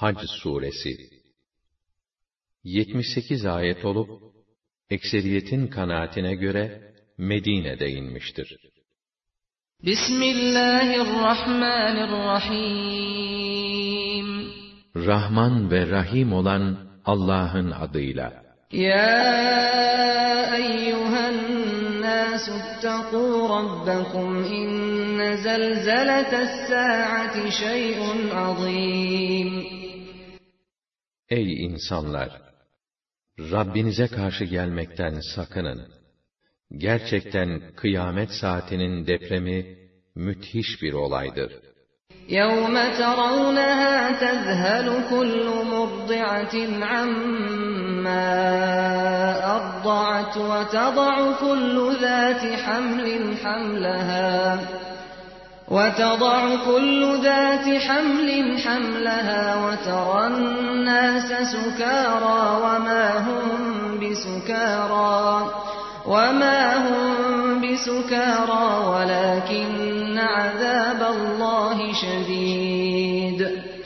Hac suresi 78 ayet olup ekseriyetin kanaatine göre Medine'de inmiştir. Bismillahirrahmanirrahim. Rahman ve Rahim olan Allah'ın adıyla. Ya eyyühen nâsü ittekû rabbekum inne zelzelete's-sâ'ati şey'un azîm. Ey insanlar! Rabbinize karşı gelmekten sakının. Gerçekten kıyamet saatinin depremi müthiş bir olaydır. يَوْمَ تَرَوْنَهَا تَذْهَلُ كُلُّ مُرْضِعَةٍ عَمَّا أَرْضَعَتْ وَتَضَعُ كُلُّ ذَاتِ حَمْلٍ حَمْلَهَا وَتَرَى النَّاسَ سُكَارَى وَمَا هُمْ بِسُكَارَى وَلَكِنَّ عَذَابَ اللّٰهِ شَدِيدٌ.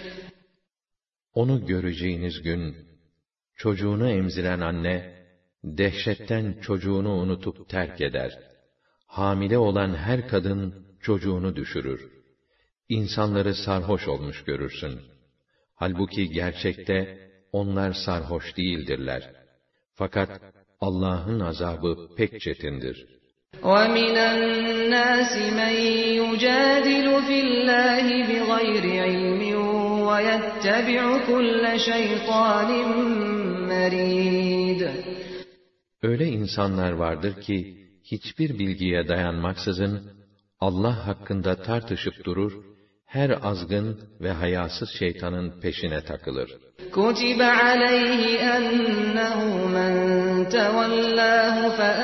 Onu göreceğiniz gün, çocuğunu emziren anne, dehşetten çocuğunu unutup terk eder. Hamile olan her kadın, çocuğunu düşürür. İnsanları sarhoş olmuş görürsün. Halbuki gerçekte, onlar sarhoş değildirler. Fakat, Allah'ın azabı pek çetindir. وَمِنَ النَّاسِ مَنْ يُجَادِلُ فِي اللّٰهِ بِغَيْرِ عِلْمٍ وَيَتَّبِعُ كُلَّ شَيْطَانٍ مَرِيدٍ. Öyle insanlar vardır ki, hiçbir bilgiye dayanmaksızın, Allah hakkında tartışıp durur, her azgın ve hayasız şeytanın peşine takılır. كُتِبَ عَلَيْهِ أَنَّهُ مَنْ تَوَلَّاهُ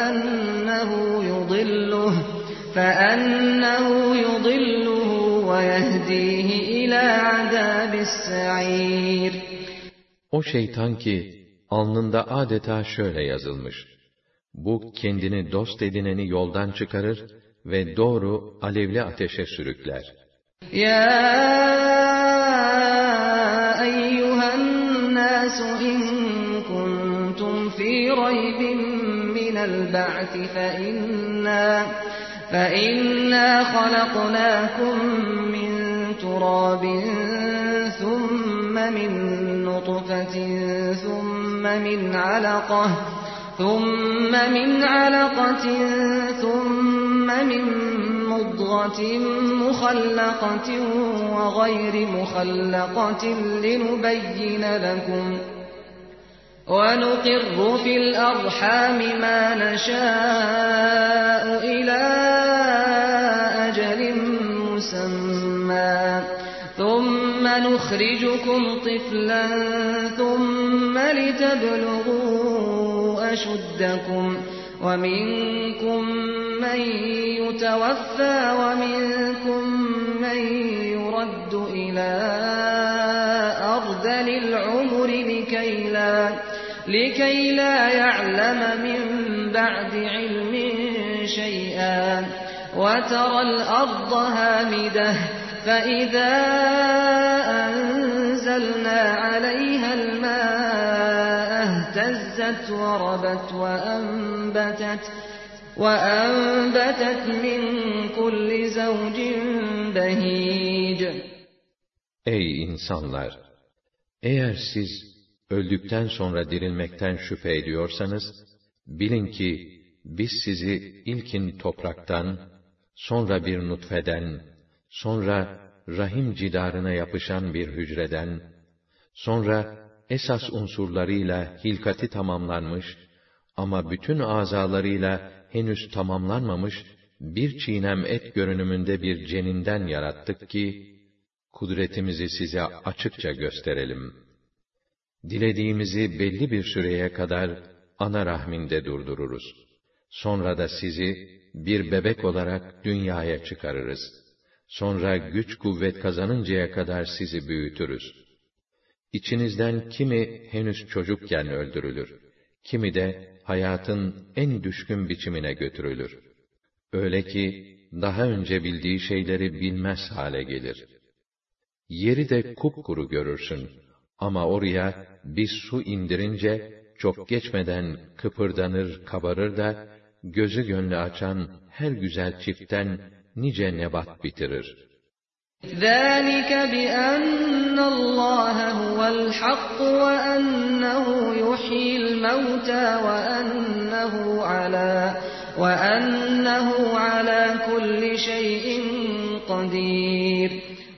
فَأَنَّهُ يُضِلُّهُ وَيَهْدِيهِ إِلَى عَذَابِ السَّعِيرِ. O şeytan ki, alnında adeta şöyle yazılmış: bu kendini dost edineni yoldan çıkarır ve doğru alevli ateşe sürükler. يَا أَيُّهَا النَّاسُ إِن كُنتُمْ فِي رَيْبٍ مِّنَ الْبَعْثِ فَإِنَّا خَلَقْنَاكُم مِّن تُرَابٍ ثُمَّ مِن نُّطْفَةٍ ثُمَّ مِنْ عَلَقَةٍ ثُمَّ مِن مُّضْغَةٍ مُّخَلَّقَةٍ وَغَيْرِ مُخَلَّقَةٍ لِّنُبَيِّنَ لَكُمْ وَنُقِرُّ فِي الْأَرْحَامِ مَا نَشَاءُ إِلَىٰ أَجَلٍ مُّسَمًّى ثُمَّ نُخْرِجُكُمْ طِفْلًا ثُمَّ لِتَبْلُغُوا أَشُدَّكُمْ وَمِنكُم مَّن يُتَوَفَّىٰ وَمِنكُم مَّن يُرَدُّ إِلَىٰ أَرْذَلِ الْعُمُرِ لِكَيْ لَا يَعْلَمَ مِن بَعْدِ عِلْمٍ شَيْئًا وَتَرَى الْأَرْضَ هَامِدَةً فَإِذَا أَنزَلْنَا عَلَيْهَا الْمَاءَ اهْتَزَّتْ وَرَبَتْ وَأَنبَتَتْ مِن كُلِّ زَوْجٍ بَهِيجٍ. Ey insanlar! Eğer siz öldükten sonra dirilmekten şüphe ediyorsanız, bilin ki biz sizi ilkin topraktan, sonra bir nutfeden, sonra rahim cidarına yapışan bir hücreden, sonra esas unsurlarıyla hilkati tamamlanmış ama bütün azalarıyla henüz tamamlanmamış bir çiğnem et görünümünde bir ceninden yarattık ki, kudretimizi size açıkça gösterelim. Dilediğimizi belli bir süreye kadar ana rahminde durdururuz. Sonra da sizi bir bebek olarak dünyaya çıkarırız. Sonra güç kuvvet kazanıncaya kadar sizi büyütürüz. İçinizden kimi henüz çocukken öldürülür, kimi de hayatın en düşkün biçimine götürülür. Öyle ki daha önce bildiği şeyleri bilmez hale gelir. Yeri de kupkuru görürsün. Ama oraya biz su indirince, çok geçmeden kıpırdanır, kabarır da, gözü gönlü açan her güzel çiftten nice nebat bitirir. ذَٰلِكَ بِأَنَّ اللّٰهَ هُوَ الْحَقُّ وَأَنَّهُ يُحْيِي الْمَوْتَىٰ وَأَنَّهُ عَلَىٰ كُلِّ شَيْءٍ قَدِيرٌ.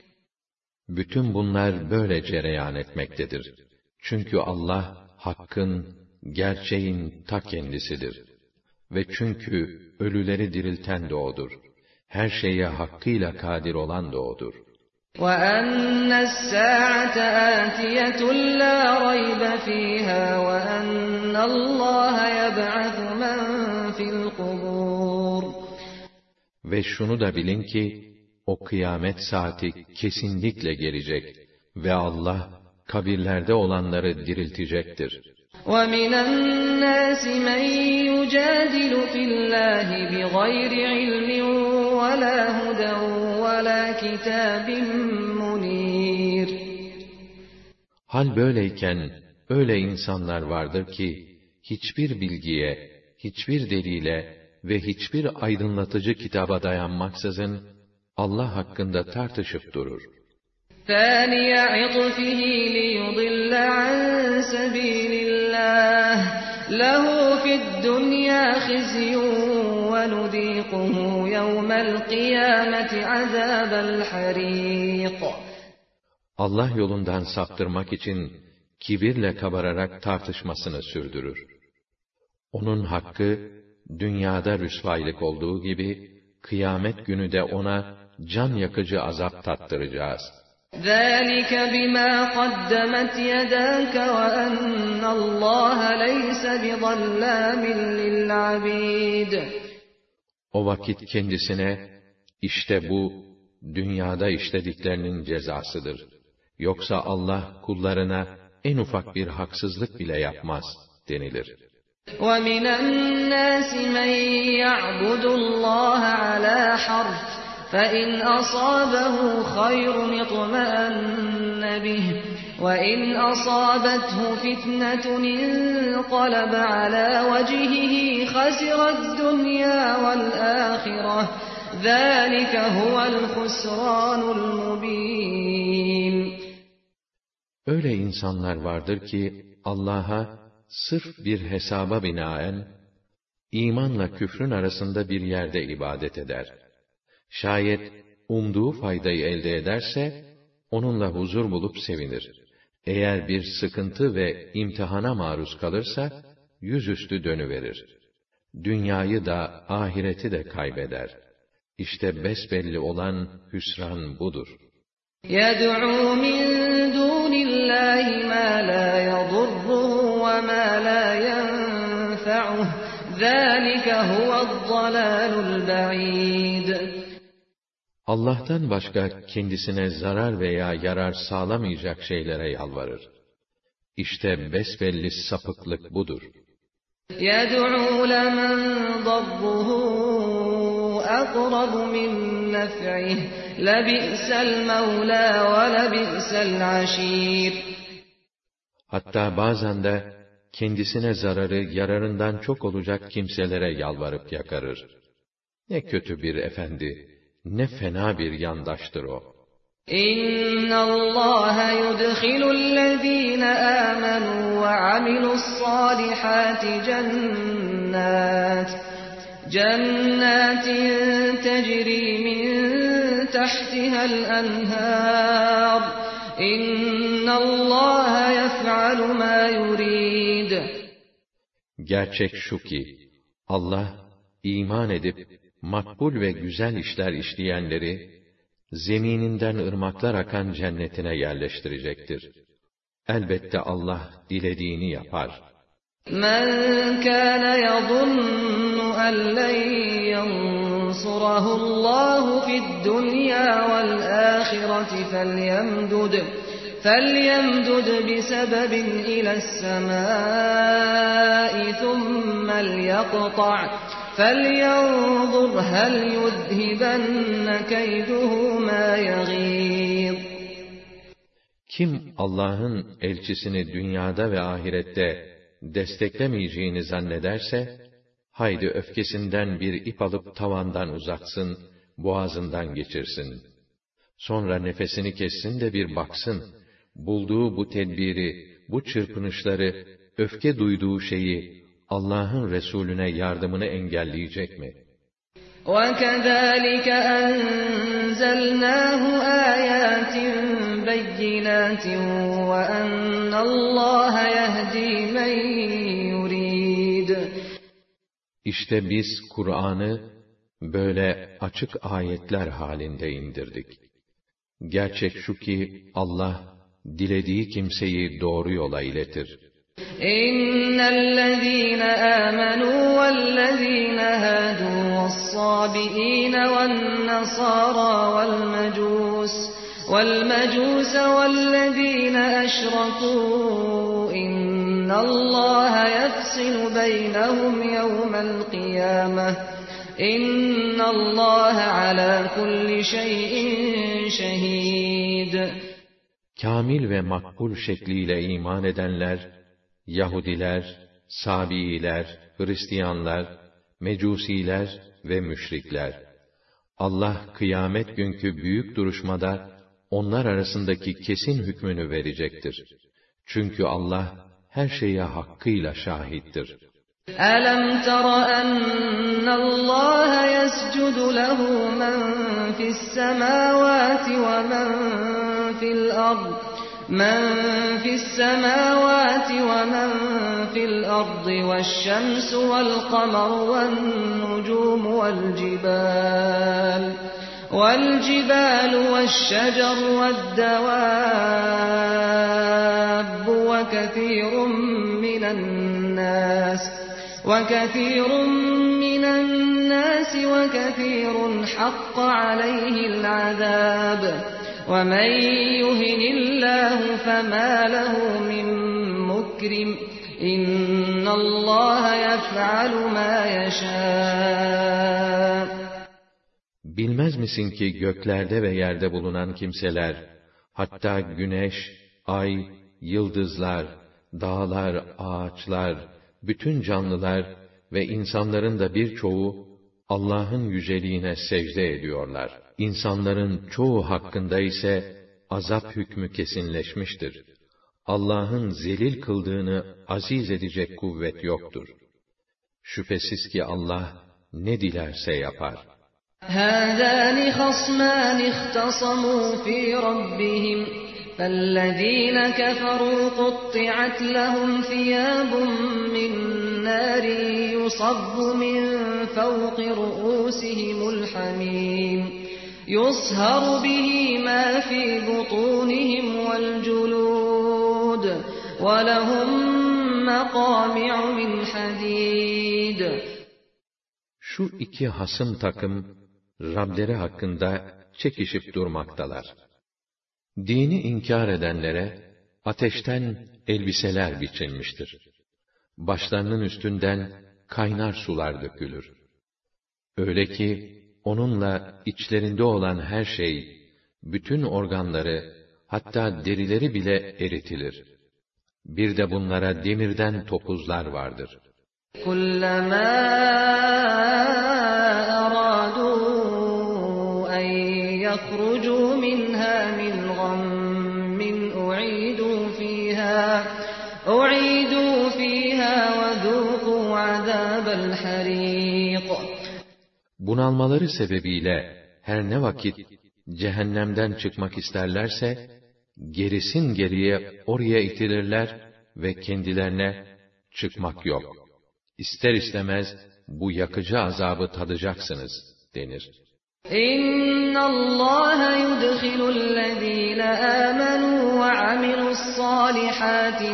Bütün bunlar böyle cereyan etmektedir. Çünkü Allah, hakkın, gerçeğin ta kendisidir. Ve çünkü ölüleri dirilten de O'dur. Her şeye hakkıyla kadir olan da O'dur. وَأَنَّ السَّاعَةَ آتِيَةٌ لَا رَيْبَ فِيهَا وَأَنَّ اللّٰهَ يَبْعَثُ مَنْ فِي الْقُبُورِ. Ve şunu da bilin ki, o kıyamet saati kesinlikle gelecek ve Allah, kabirlerde olanları diriltecektir. وَمِنَ النَّاسِ مَنْ يُجَادِلُ فِي اللّٰهِ بِغَيْرِ عِلْمٍ وَلَا هُدًى وَلَا كِتَابٍ مُنِيرٍ. Hal böyleyken, öyle insanlar vardır ki, hiçbir bilgiye, hiçbir delile ve hiçbir aydınlatıcı kitaba dayanmaksızın, Allah hakkında tartışıp durur. ثَانِيَ عِطْفِهِ لِيُضِلَّ عَنْ سَبِيلِ اللّٰهِ لَهُ فِي الدُّنْيَا خِزْيٌ وَنُذِيقُهُ يَوْمَ الْقِيَامَةِ عَذَابَ الْحَرِيقِ. Allah yolundan saptırmak için kibirle kabararak tartışmasını sürdürür. Onun hakkı, dünyada rüsvaylık olduğu gibi, kıyamet günü de ona can yakıcı azap tattıracağız. ذَٰلِكَ بِمَا قَدَّمَتْ يَدَاكَ وَأَنَّ اللّٰهَ لَيْسَ بِظَلَّامٍ لِلْعَبِيدِ. O vakit kendisine, işte bu, dünyada işlediklerinin cezasıdır. Yoksa Allah kullarına en ufak bir haksızlık bile yapmaz denilir. وَمِنَ النَّاسِ مَنْ يَعْبُدُ اللّٰهَ عَلَى حَرْفٍ فَإِنْ أَصَابَهُ خَيْرٌ اطْمَأَنَّ بِهِ وَإِنْ أَصَابَتْهُ فِتْنَةٌ انقَلَبَ عَلَى وَجْهِهِ خَسِرَ الدُّنْيَا وَالْآخِرَةَ ذَٰلِكَ هُوَ الْخُسْرَانُ الْمُبِينُ. Öyle insanlar vardır ki, Allah'a sırf bir hesaba binaen, imanla küfrün arasında bir yerde ibadet eder. Şayet umduğu faydayı elde ederse, onunla huzur bulup sevinir. Eğer bir sıkıntı ve imtihana maruz kalırsa, yüzüstü dönüverir. Dünyayı da, ahireti de kaybeder. İşte besbelli olan hüsran budur. يَدْعُو مِنْ دُونِ اللّٰهِ مَا لَا يَضُرُّهُ وَمَا لَا يَنْفَعُهُ ذَٰلِكَ هُوَ الضَّلَالُ الْبَعِيدُ. Allah'tan başka kendisine zarar veya yarar sağlamayacak şeylere yalvarır. İşte besbelli sapıklık budur. يَدْعُو لَمَنْ ضَرُّهُ أَقْرَبُ مِنْ نَفْعِهِ لَبِئْسَ الْمَوْلَى وَلَبِئْسَ الْعَشِيرُ. Hatta bazen de kendisine zararı yararından çok olacak kimselere yalvarıp yakarır. Ne kötü bir efendi, ne fena bir yandaştır o. إِنَّ اللّٰهَ يُدْخِلُ الَّذ۪ينَ آمَنُوا وَعَمِلُوا الصَّالِحَاتِ جَنَّاتٍ تَجْرِي مِنْ تَحْتِهَا الْأَنْهَارُ إِنَّ اللّٰهَ يَفْعَلُ مَا يُرِيدُ. Gerçek şu ki, Allah, iman edip, makbul ve güzel işler işleyenleri, zemininden ırmaklar akan cennetine yerleştirecektir. Elbette Allah dilediğini yapar. مَنْ كَانَ يَظُنُّ أَنْ لَنْ يَنْصُرَهُ اللّٰهُ فِي الدُّنْيَا وَالْآخِرَةِ فَلْيَمْدُدْ بِسَبَبٍ إِلَى السَّمَاءِ ثُمَّ لْيَقْطَعْ فَلْيَنْظُرْ هَلْ يُذْهِبَنَّ كَيْدُهُ مَا يَغِيظُ. Kim Allah'ın elçisini dünyada ve ahirette desteklemeyeceğini zannederse, haydi öfkesinden bir ip alıp tavandan uzatsın, boğazından geçirsin. Sonra nefesini kessin de bir baksın, bulduğu bu tedbiri, bu çırpınışları, öfke duyduğu şeyi, Allah'ın Resulüne yardımını engelleyecek mi? وَكَذَٰلِكَ أَنزَلْنَاهُ آيَاتٍ بَيِّنَاتٍ وَأَنَّ اللّٰهَ يَهْدِي مَن يُرِيدُ. İşte biz Kur'an'ı böyle açık ayetler halinde indirdik. Gerçek şu ki Allah dilediği kimseyi doğru yola iletir. İnnellezîne âmenû vellezîne hâdû ve's-sâbiîne ven-nesârâ وَالْمَجُوسَ وَالَّذ۪ينَ أَشْرَكُوا اِنَّ اللّٰهَ يَفْصِلُ بَيْنَهُمْ يَوْمَ الْقِيَامَةِ اِنَّ اللّٰهَ عَلَى كُلِّ شَيْءٍ شَهِيدٌ. Kamil ve makbul şekliyle iman edenler, Yahudiler, Sabiiler, Hristiyanlar, Mecusiler ve müşrikler. Allah kıyamet günkü büyük duruşmada onlar arasındaki kesin hükmünü verecektir. Çünkü Allah her şeye hakkıyla şahittir. أَلَمْ تَرَ أَنَّ اللّٰهَ يَسْجُدُ لَهُ مَنْ فِي السَّمَاوَاتِ وَمَنْ فِي الْأَرْضِ وَالشَّمْسُ وَالْقَمَرُ وَالنُّجُومُ وَالْجِبَالُ وَالشَّجَرُ وَالدَّوَابُّ وَكَثِيرٌ مِّنَ النَّاسِ وَكَثِيرٌ حَقَّ عَلَيْهِ الْعَذَابُ وَمَن يُهِنِ اللَّهُ فَمَا لَهُ مِن مُّكْرِمٍ إِنَّ اللَّهَ يَفْعَلُ مَا يَشَاءُ. Bilmez misin ki göklerde ve yerde bulunan kimseler, hatta güneş, ay, yıldızlar, dağlar, ağaçlar, bütün canlılar ve insanların da birçoğu Allah'ın yüceliğine secde ediyorlar. İnsanların çoğu hakkında ise azap hükmü kesinleşmiştir. Allah'ın zelil kıldığını aziz edecek kuvvet yoktur. Şüphesiz ki Allah ne dilerse yapar. هَذَانِ خَصْمَانِ اخْتَصَمُوا فِي رَبِّهِمْ فَالَّذ۪ينَ كَفَرُوا قُطِّعَتْ لَهُمْ ثِيَابٌ مِّن نَّارٍ يُصَبُّ مِن فَوْقِ رُءُوسِهِمُ الْحَمِيمُ يُصْهَرُ بِهِ مَا فِي بُطُونِهِمْ وَالْجُلُودُ وَلَهُم مَّقَامِعُ مِنْ حَدِيدٍ. Şu iki hasım takım, Rableri hakkında çekişip durmaktalar. Dini inkar edenlere, ateşten elbiseler biçilmiştir. Başlarının üstünden kaynar sular dökülür. Öyle ki, onunla içlerinde olan her şey, bütün organları, hatta derileri bile eritilir. Bir de bunlara demirden topuzlar vardır. كُلَّمَا أَرَادُوا أَنْ يَخْرُجُوا مِنْهَا مِنْ غَمٍّ أُعِيدُوا فِيهَا وَذُوقُوا عَذَابَ الْحَرِيقِ. Bunalmaları sebebiyle her ne vakit cehennemden çıkmak isterlerse, gerisin geriye oraya itilirler ve kendilerine çıkmak yok, İster istemez bu yakıcı azabı tadacaksınız denir. İnna Allah yudkhilü'l-lezîne âmenû ve amilu's-sâlihâti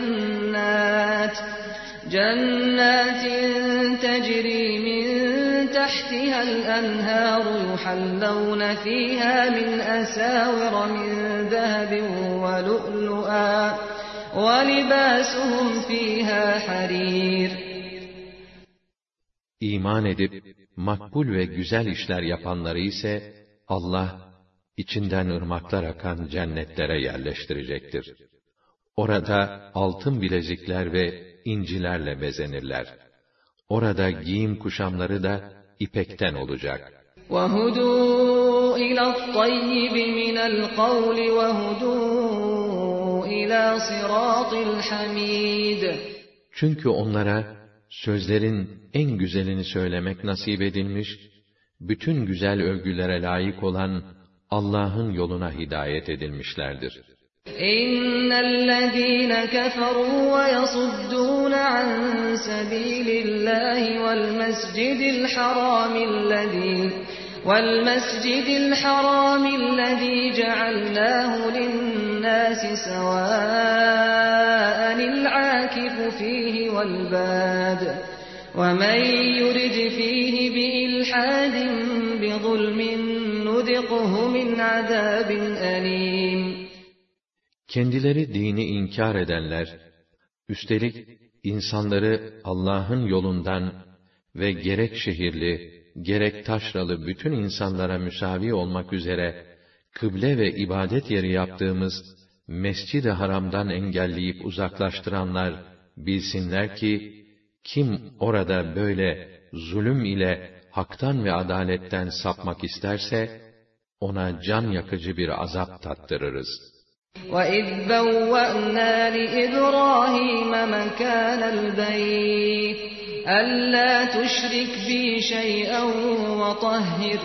cennetin tecrî min tahtiha'l enhâru yuhallawne fîhâ min esâvira min zehebin ve lu'lu'a ve libâsuhum fîhâ harîr. İman edip makbul ve güzel işler yapanları ise Allah içinden ırmaklar akan cennetlere yerleştirecektir. Orada altın bilezikler ve incilerle bezenirler. Orada giyim kuşamları da ipekten olacak. وَهُدُوا إِلَى الطَّيِّبِ مِنَ الْقَوْلِ وَهُدُوا إِلَى صِرَاطِ الْحَمِيدِ. Çünkü onlara sözlerin en güzelini söylemek nasip edilmiş, bütün güzel övgülere layık olan Allah'ın yoluna hidayet edilmişlerdir. İnnellezîne keferû ve yasuddûne an sebîlillâhi vel mescidil harâmillezî cealnâhu linnâsi sevâ'anil âkifu fîhi vel bâd. وَمَنْ يُرِدْ فِيهِ بِإِلْحَادٍ بِظُلْمٍ نُذِقْهُ مِنْ عَذَابٍ أَلِيمٍ. Kendileri dini inkar edenler, üstelik insanları Allah'ın yolundan ve gerek şehirli, gerek taşralı bütün insanlara müsavi olmak üzere, kıble ve ibadet yeri yaptığımız Mescid-i Haram'dan engelleyip uzaklaştıranlar, bilsinler ki, kim orada böyle zulüm ile haktan ve adaletten sapmak isterse, ona can yakıcı bir azap tattırırız. وَإِذْ بَوَّأْنَا لِإِبْرَاهِيمَ مَكَانَ الْبَيْتِ أَلَّا تُشْرِكْ بِي شَيْئًا وَطَهِّرْ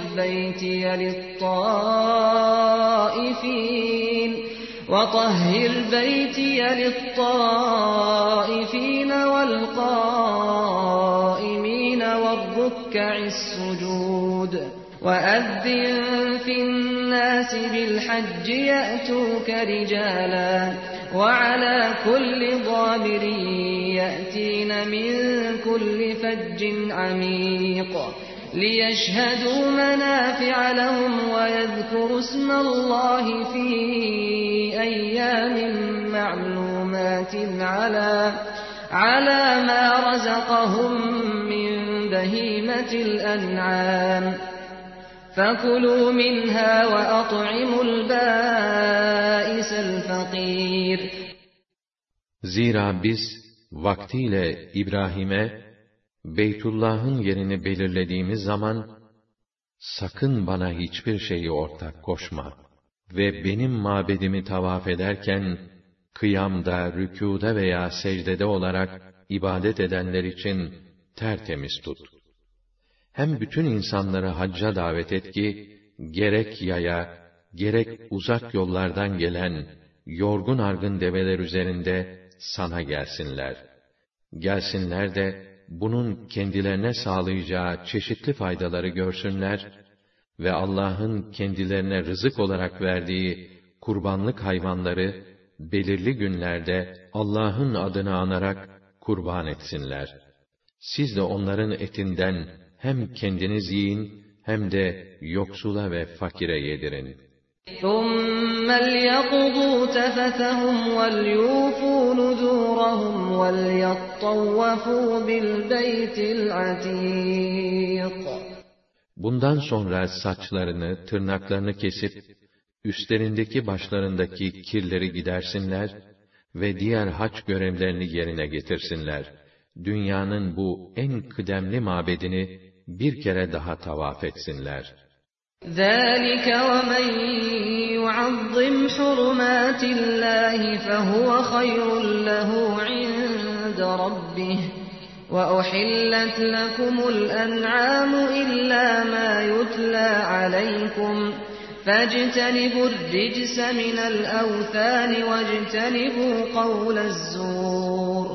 بَيْتِيَ لِلطَّائِفِينَ وَالْقَائِمِينَ وَالرُّكَّعِ السُّجُودِ وَأَذِّن فِي النَّاسِ بِالْحَجِّ يَأْتُوكَ رِجَالًا وَعَلَى كُلِّ ضَامِرٍ يَأْتِينَ مِنْ كُلِّ فَجٍّ عَمِيقٍ لِيَشْهَدُوا مَنَافِعَ لَهُمْ وَيَذْكُرُوا اسْمَ اللَّهِ فِي أَيَّامٍ مَّعْلُومَاتٍ عَلَى مَا رَزَقَهُم مِّن بَهِيمَةِ الْأَنْعَامِ فَكُلُوا مِنْهَا وَأَطْعِمُوا الْبَائِسَ الْفَقِيرَ. Zira biz vaktiyle İbrahim'e Beytullah'ın yerini belirlediğimiz zaman, sakın bana hiçbir şeyi ortak koşma ve benim mabedimi tavaf ederken, kıyamda, rükûda veya secdede olarak ibadet edenler için tertemiz tut. Hem bütün insanları hacca davet et ki, gerek yaya, gerek uzak yollardan gelen, yorgun argın develer üzerinde sana gelsinler. Gelsinler de, bunun kendilerine sağlayacağı çeşitli faydaları görsünler ve Allah'ın kendilerine rızık olarak verdiği kurbanlık hayvanları belirli günlerde Allah'ın adını anarak kurban etsinler. Siz de onların etinden hem kendiniz yiyin hem de yoksula ve fakire yedirin. ثُمَّ لْيَقْضُوا تَفَثَهُمْ وَلْيُوفُوا نُذُورَهُمْ وَلْيَطَّوَّفُوا بِالْبَيْتِ الْعَتِيقِ. Bundan sonra saçlarını, tırnaklarını kesip, üstlerindeki başlarındaki kirleri gidersinler ve diğer hac görevlerini yerine getirsinler. Dünyanın bu en kıdemli mabedini bir kere daha tavaf etsinler. ذَٰلِكَ وَمَنْ يُعَظِّمْ حُرُمَاتِ اللّٰهِ فَهُوَ خَيْرٌ لَهُ عِندَ رَبِّهِ وَأُحِلَّتْ لَكُمُ الْأَنْعَامُ إِلَّا مَا يُتْلَىٰ عَلَيْكُمْ فَاجْتَنِبُوا الرِّجْسَ مِنَ الْأَوْثَانِ وَاجْتَنِبُوا قَوْلَ الزُّورِ.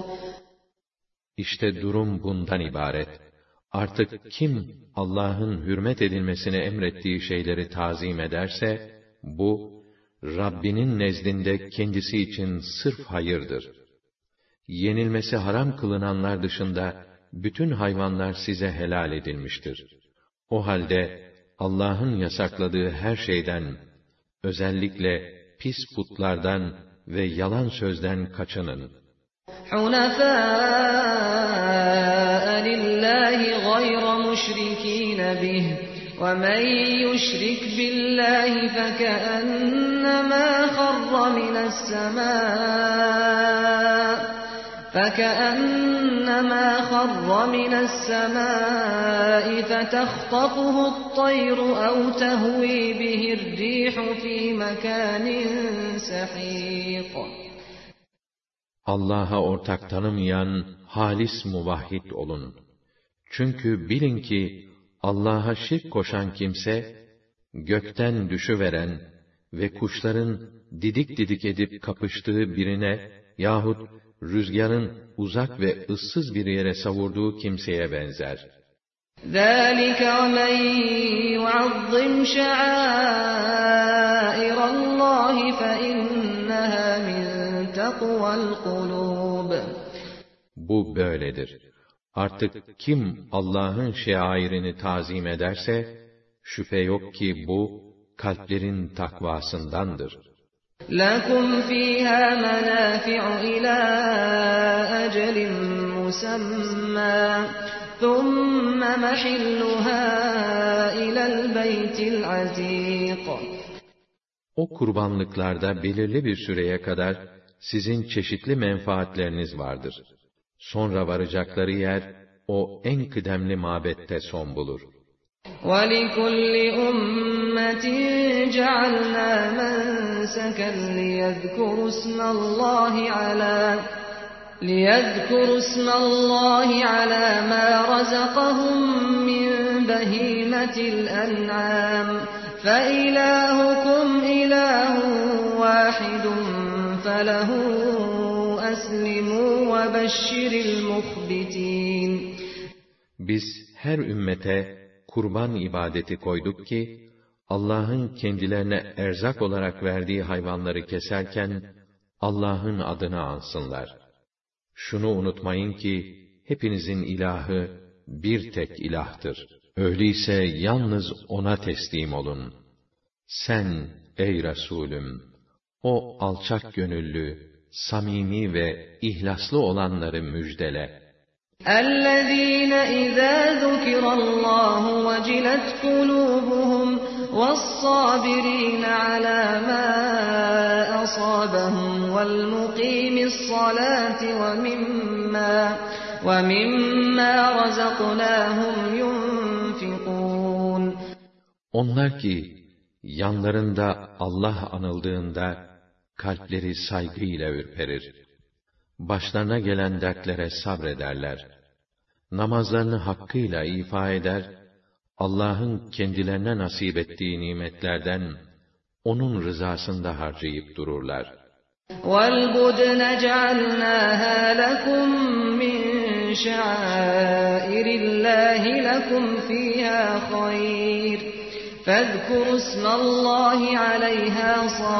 İşte durum bundan ibaret. Artık kim Allah'ın hürmet edilmesini emrettiği şeyleri tazim ederse, bu, Rabbinin nezdinde kendisi için sırf hayırdır. Yenilmesi haram kılınanlar dışında, bütün hayvanlar size helal edilmiştir. O halde, Allah'ın yasakladığı her şeyden, özellikle pis putlardan ve yalan sözden kaçının. حُنَفَاءَ لِلَّهِ غَيْرَ مُشْرِكِينَ بِهِ وَمَنْ يُشْرِكْ بِاللّٰهِ فَكَأَنَّمَا خَرَّ مِنَ السَّمَاءِ فَتَخْطَفُهُ الطَّيْرُ أَوْ تَهْوِي بِهِ الرِّيحُ فِي مَكَانٍ سَحِيقٍ. Allah'a ortak tanımayan halis muvahhid olun. Çünkü bilin ki Allah'a şirk koşan kimse, gökten düşüveren ve kuşların didik didik edip kapıştığı birine yahut rüzgarın uzak ve ıssız bir yere savurduğu kimseye benzer. ذَٰلِكَ وَمَنْ يُعَظِّمْ شَعَائِرَ اللّٰهِ فَإِنَّهَا مِنْ تَقْوَى الْقُلُوبِ. Bu böyledir. Artık kim Allah'ın şairini tazim ederse, şüphe yok ki bu, kalplerin takvasındandır. لَكُمْ فِيهَا مَنَافِعُ إِلَى أَجَلٍ مُّسَمًّى ثُمَّ مَحِلُّهَا إِلَى الْبَيْتِ الْعَتِيقِ. O kurbanlıklarda belirli bir süreye kadar sizin çeşitli menfaatleriniz vardır. Sonra varacakları yer, o en kıdemli mabette son bulur. وَلِكُلِّ أُمَّةٍ جَعَلْنَا مَنسَكًا لِيَذْكُرُوا اسْمَ اللّٰهِ عَلَى مَا رَزَقَهُم مِّن بَهِيمَةِ الْأَنْعَامِ فَإِلَٰهُكُمْ إِلَٰهٌ وَاحِدٌ فَلَهُ أَسْلِمُوا وَبَشِّرِ الْمُخْبِتِينَ. Biz her ümmete kurban ibadeti koyduk ki, Allah'ın kendilerine erzak olarak verdiği hayvanları keserken, Allah'ın adını ansınlar. Şunu unutmayın ki, hepinizin ilahı bir tek ilahtır. Öyleyse yalnız O'na teslim olun. Sen, ey Resulüm, o alçak gönüllü, samimi ve ihlaslı olanları müjdele. اَلَّذ۪ينَ اِذَا ذُكِرَ اللّٰهُ وَجِلَتْ قُلُوبُهُمْ وَالصَّابِر۪ينَ عَلَى مَا أَصَابَهُمْ وَالْمُقِيمِ الصَّلَاةِ وَمِمَّا رَزَقْنَاهُمْ يُنْفِقُونَ. Onlar ki, yanlarında Allah anıldığında, kalpleri saygıyla ürperir. Başlarına gelen dertlere sabrederler. Namazlarını hakkıyla ifa eder, Allah'ın kendilerine nasip ettiği nimetlerden, O'nun rızasında harcayıp dururlar. وَالْبُدْنَ جَعَلْنَاهَا لَكُمْ مِنْ شَعَائِرِ اللّٰهِ لَكُمْ فِيهَا خَيْرٌ فَاذْكُرُوا اسْمَ اللّٰهِ عَلَيْهَا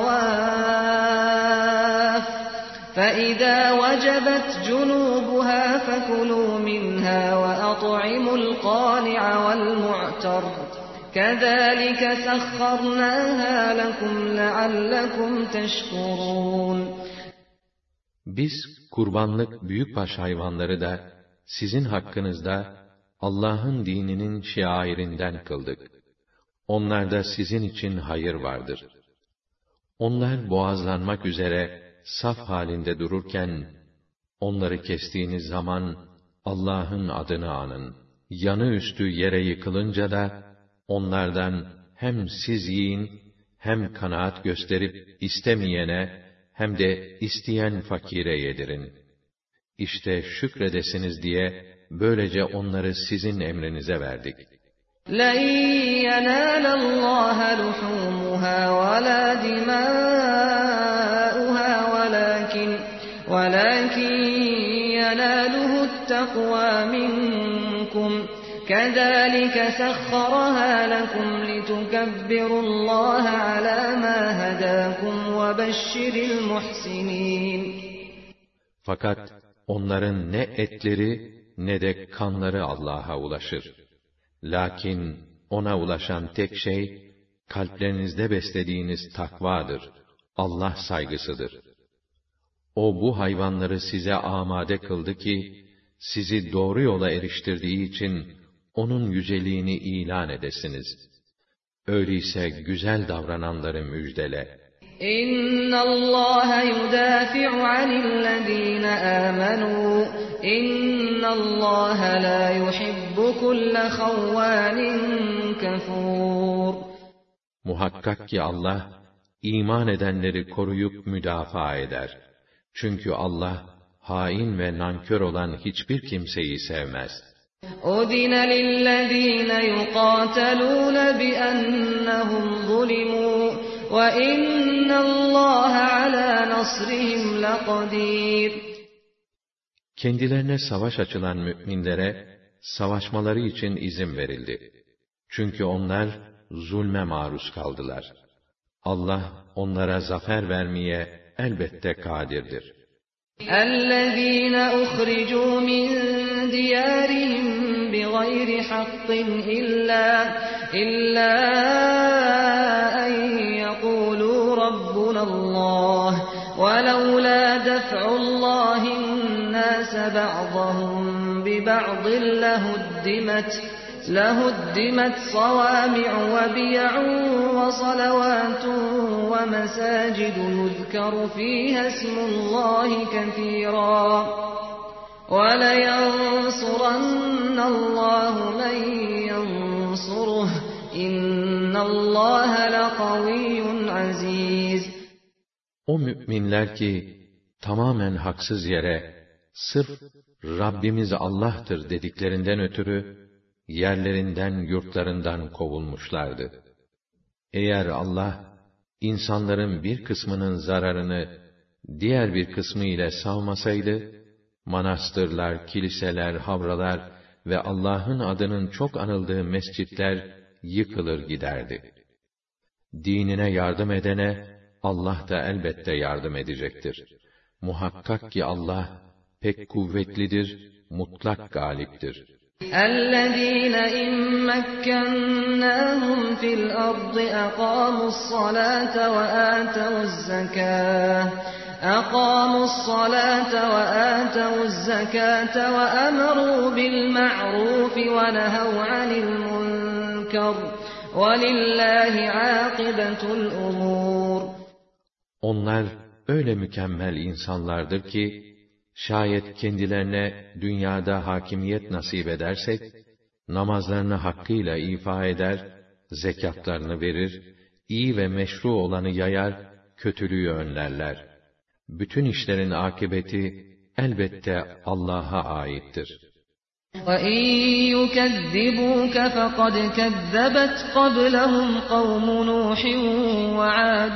صَوَافَّ فَإِذَا وَجَبَتْ جُنُوبُهَا فَكُلُوا مِنْهَا وَأَطْعِمُوا الْقَانِعَ وَالْمُعْتَرَّ كَذَٰلِكَ سَخَّرْنَاهَا لَكُمْ لَعَلَّكُمْ تَشْكُرُونَ. Biz kurbanlık büyükbaş hayvanları da sizin hakkınızda Allah'ın dininin şiarinden kıldık. Onlarda sizin için hayır vardır. Onlar boğazlanmak üzere saf halinde dururken, onları kestiğiniz zaman Allah'ın adını anın. Yanı üstü yere yıkılınca da, onlardan hem siz yiyin, hem kanaat gösterip istemeyene, hem de isteyen fakire yedirin. İşte şükredesiniz diye, böylece onları sizin emrinize verdik. لَنْ يَنَالَ اللّٰهَ لُحُومُهَا وَلَا دِمَاؤُهَا وَلَكِنْ يَنَالُهُ التَّقْوَى مِنْكُمْ كَذَٰلِكَ سَخَّرَهَا لَكُمْ لِتُكَبِّرُوا اللّٰهَ عَلَى مَا هَدَاكُمْ وَبَشِّرِ الْمُحْسِنِينَ. Fakat onların ne etleri ne de kanları Allah'a ulaşır. Lakin O'na ulaşan tek şey, kalplerinizde beslediğiniz takvadır, Allah saygısıdır. O bu hayvanları size amade kıldı ki, sizi doğru yola eriştirdiği için, O'nun yüceliğini ilan edesiniz. Öyleyse güzel davrananları müjdele. İnnallâhe yudâfi'u anillezîne âmenû. İnnallâhe lâ yuhibbu kulle havvânin kefûr. Muhakkak ki Allah, iman edenleri koruyup müdafaa eder. Çünkü Allah, hain ve nankör olan hiçbir kimseyi sevmez. أُذِنَ لِلَّذِينَ يُقَاتَلُونَ بِأَنَّهُمْ ظُلِمُوا وَإِنَّ اللّٰهَ عَلَى نَصْرِهِمْ لَقَدِيرٌ. Kendilerine savaş açılan müminlere, savaşmaları için izin verildi. Çünkü onlar, zulme maruz kaldılar. Allah, onlara zafer vermeye elbette kadirdir. اَلَّذ۪ينَ اُخْرِجُوا مِنْ دِيَارِهِمْ بِغَيْرِ حَقٍّ إِلَّا أَنْ يَقُولُوا رَبُّنَا اللّٰهُ وَلَوْلَا دَفْعُ اللّٰهِ النَّاسَ بَعْضَهُمْ بِبَعْضٍ لَهُدِّمَتْ صَوَامِعُ وَبِيَعٌ وَصَلَوَاتٌ وَمَسَاجِدُ يُذْكَرُ فِيهَا اسْمُ اللّٰهِ كَثِيرًا وَلَيَنْصُرَنَّ اللّٰهُ مَنْ يَنْصُرُهُ إِنَّ اللّٰهَ لَقَوِيٌّ عَزِيزٌ. O müminler ki, tamamen haksız yere, sırf Rabbimiz Allah'tır dediklerinden ötürü, yerlerinden, yurtlarından kovulmuşlardı. Eğer Allah, insanların bir kısmının zararını, diğer bir kısmı ile savmasaydı, manastırlar, kiliseler, havralar ve Allah'ın adının çok anıldığı mescitler yıkılır giderdi. Dinine yardım edene, Allah da elbette yardım edecektir. Muhakkak ki Allah, pek kuvvetlidir, mutlak galiptir. اَلَّذ۪ينَ اِنْ مَكَّنَّاهُمْ فِي الْأَرْضِ أَقَامُوا الصَّلَاةَ وَآتَوُا الزَّكَاةَ وَأَمَرُوا بِالْمَعْرُوفِ وَنَهَوْا عَنِ الْمُنْكَرِ وَلِلَّهِ عَاقِبَةُ الْأُمُورِ. Onlar öyle mükemmel insanlardır ki, şayet kendilerine dünyada hakimiyet nasip edersek, namazlarını hakkıyla ifa eder, zekatlarını verir, iyi ve meşru olanı yayar, kötülüğü önlerler. Bütün işlerin akıbeti elbette Allah'a aittir. وَاِنْ يُكَذِّبُوكَ فَقَدْ كَذَّبَتْ قَبْلَهُمْ قَوْمُ نُوحٍ وَعَادٌ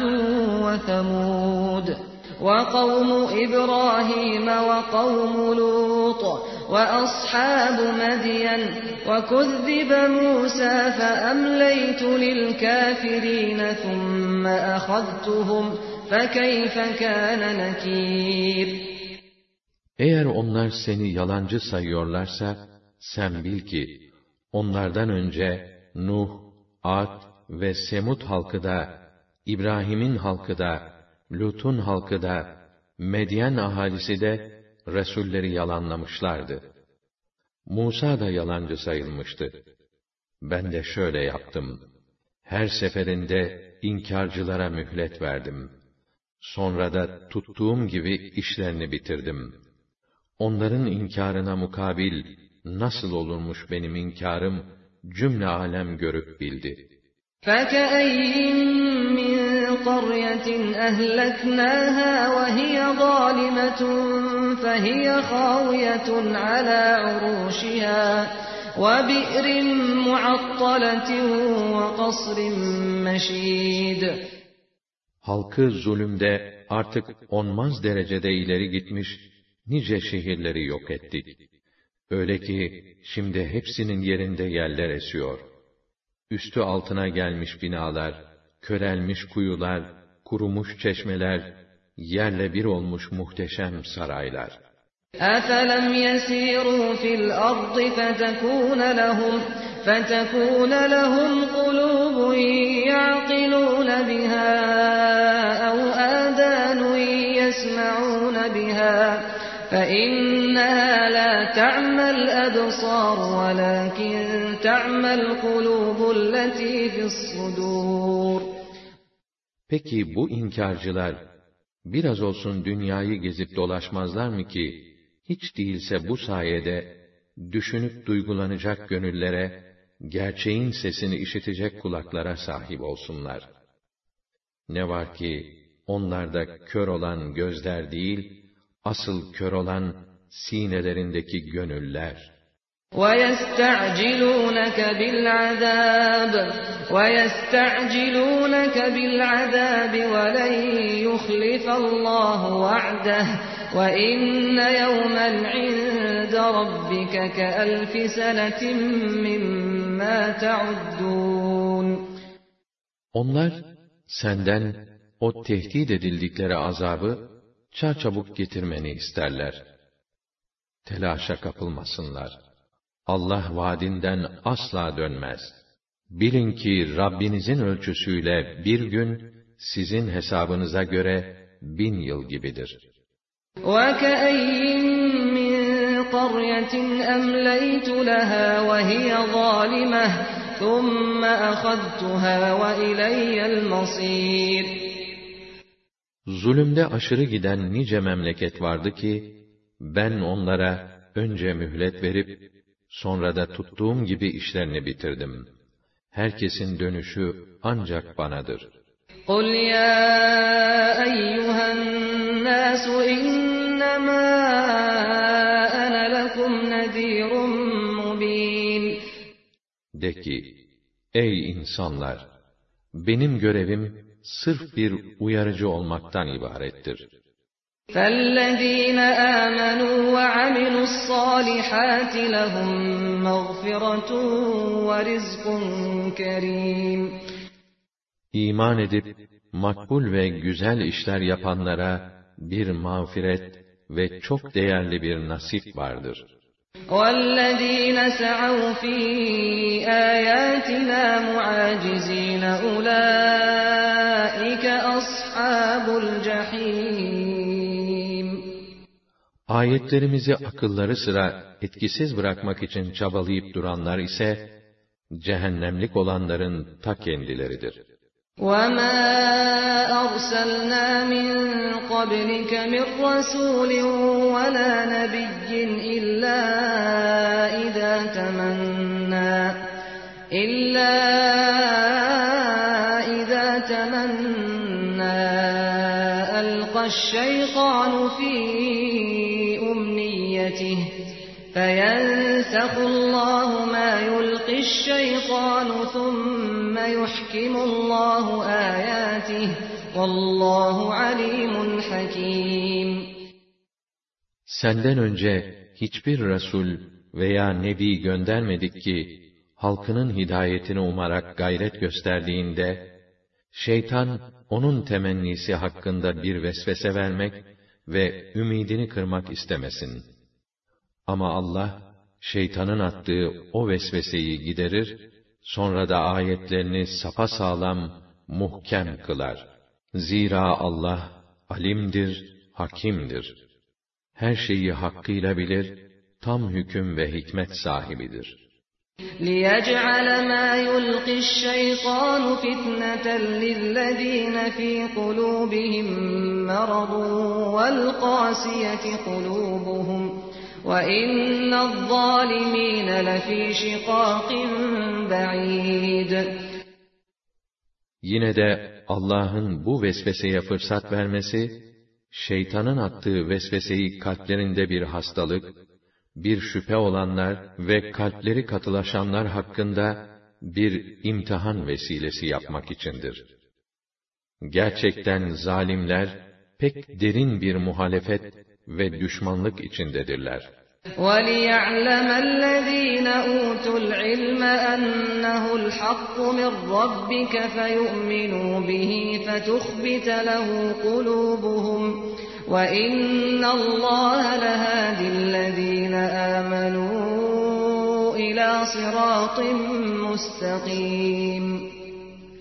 وَثَمُودُ وَقَوْمُ إِبْرَاهِيمَ وَقَوْمُ لُوطٍ وَأَصْحَابُ مَدْيَنَ وَكُذِّبَ مُوسَى فَأَمْلَيْتُ لِلْكَافِرِينَ ثُمَّ أَخَذْتُهُمْ فَكَيْفَ كَانَ نَكِيرِ. Eğer onlar seni yalancı sayıyorlarsa, sen bil ki, onlardan önce Nuh, Ad ve Semud halkı da, İbrahim'in halkı da, Lut'un halkı da, Medyen ahalisi de, Resulleri yalanlamışlardı. Musa da yalancı sayılmıştı. Ben de şöyle yaptım. Her seferinde inkârcılara mühlet verdim. Sonra da tuttuğum gibi işlerini bitirdim. Onların inkârına mukabil, nasıl olurmuş benim inkârım, cümle alem görüp bildi. فَكَأَيِّن مِّن قَرْيَةٍ أَهْلَكْنَاهَا وَهِيَ ظَالِمَةٌ فَهِيَ خَاوِيَةٌ عَلَى عُرُوشِهَا وَبِئْرٍ مُعَطَّلَةٍ وَقَصْرٍ مَّشِيدٍ. Halkı zulümde artık onmaz derecede ileri gitmiş, nice şehirleri yok ettik. Öyle ki, şimdi hepsinin yerinde yeller esiyor. Üstü altına gelmiş binalar, körelmiş kuyular, kurumuş çeşmeler, yerle bir olmuş muhteşem saraylar. أَفَلَمْ يَسِيرُوا فِي الْأَرْضِ فَتَكُونَ لَهُمْ قُلُوبٌ يَعْقِلُونَ بِهَا أَوْ آذَانٌ يَسْمَعُونَ بِهَا فإنها لا تعمى الأبصار ولكن تعمى القلوب التي في الصدور. Peki bu inkarcılar biraz olsun dünyayı gezip dolaşmazlar mı ki hiç değilse bu sayede düşünüp duygulanacak gönüllere, gerçeğin sesini işitecek kulaklara sahip olsunlar. Ne var ki onlarda kör olan gözler değil, asıl kör olan sinelerindeki gönüller. وَيَسْتَعْجِلُونَكَ بِالْعَذَابِ وَلَنْ يُخْلِفَ اللَّهُ وَعْدَهُ وَإِنَّ يَوْمًا عِندَ رَبِّكَ كَأَلْفِ سَنَةٍ مِّمَّا تَعُدُّونَ. Onlar senden o tehdit edildikleri azabı çarçabuk getirmeni isterler. Telaşa kapılmasınlar. Allah vaadinden asla dönmez. Bilin ki Rabbinizin ölçüsüyle bir gün sizin hesabınıza göre 1000 yıl gibidir. وَكَأَيِّن مِّن قَرْيَةٍ أَمْلَيْتُ لَهَا وَهِيَ ظَالِمَةٌ ثُمَّ أَخَذْتُهَا وَإِلَيَّ الْمَصِيرُ. Zulümde aşırı giden nice memleket vardı ki, ben onlara önce mühlet verip, sonra da tuttuğum gibi işlerini bitirdim. Herkesin dönüşü ancak banadır. قُلْ يَا أَيُّهَا النَّاسُ إِنَّمَا أَنَا لَكُمْ نَذِيرٌ مُّبِينٌ. De ki, ey insanlar! Benim görevim, sırf bir uyarıcı olmaktan ibarettir. فَالَّذ۪ينَ آمَنُوا وَعَمِلُوا الصَّالِحَاتِ لَهُمْ مَغْفِرَةٌ وَرِزْقٌ كَرِيمٌ. İman edip, makbul ve güzel işler yapanlara bir mağfiret ve çok değerli bir nasip vardır. وَالَّذ۪ينَ سَعَوْا ف۪ي آيَاتِنَا مُعَاجِز۪ينَ أُولَٰئِكَ أَصْحَابُ الْجَح۪يمِ. Ayetlerimizi akılları sıra etkisiz bırakmak için çabalayıp duranlar ise, cehennemlik olanların ta kendileridir. وَمَا أَرْسَلْنَا مِن قَبْلِكَ مِن رَّسُولٍ وَلَا نَبِيٍّ إِلَّا إِذَا تَمَنَّىٰ أَلْقَى الشَّيْطَانُ فِي أُمْنِيَّتِهِ فَيَنسَخُ اللَّهُ مَا يُلْقِي الشَّيْطَانُ ثُمَّ يُحْكِمُ اللَّهُ آيَاتِهِ وَاللّٰهُ عَلِيمٌ حَكِيمٌ. Senden önce hiçbir Resul veya Nebi göndermedik ki, halkının hidayetini umarak gayret gösterdiğinde, şeytan onun temennisi hakkında bir vesvese vermek ve ümidini kırmak istemesin. Ama Allah, şeytanın attığı o vesveseyi giderir, sonra da ayetlerini sapasağlam, muhkem kılar. Zira Allah, alimdir, hakimdir. Her şeyi hakkıyla bilir, tam hüküm ve hikmet sahibidir. لِيَجْعَلَ مَا يُلْقِي الشَّيْطَانُ فِتْنَةً لِلَّذ۪ينَ ف۪ي قُلُوبِهِمْ مَرَضٌ وَالْقَاسِيَةِ قُلُوبُهُمْ وَإِنَّ الظَّالِم۪ينَ لَف۪ي شِقَاقٍ بَعِيدٍ. Yine de Allah'ın bu vesveseye fırsat vermesi, şeytanın attığı vesveseyi kalplerinde bir hastalık, bir şüphe olanlar ve kalpleri katılaşanlar hakkında bir imtihan vesilesi yapmak içindir. Gerçekten zalimler pek derin bir muhalefet ve düşmanlık içindedirler. وَلِيَعْلَمَ الَّذ۪ينَ أُوتُوا الْعِلْمَ أَنَّهُ الْحَقُّ مِنْ رَبِّكَ فَيُؤْمِنُوا بِهِ فَتُخْبِتَ لَهُ قُلُوبُهُمْ وَإِنَّ اللّٰهَ لَهَادِ الَّذ۪ينَ آمَنُوا إِلَى صِرَاطٍ مُسْتَقِيمٍ.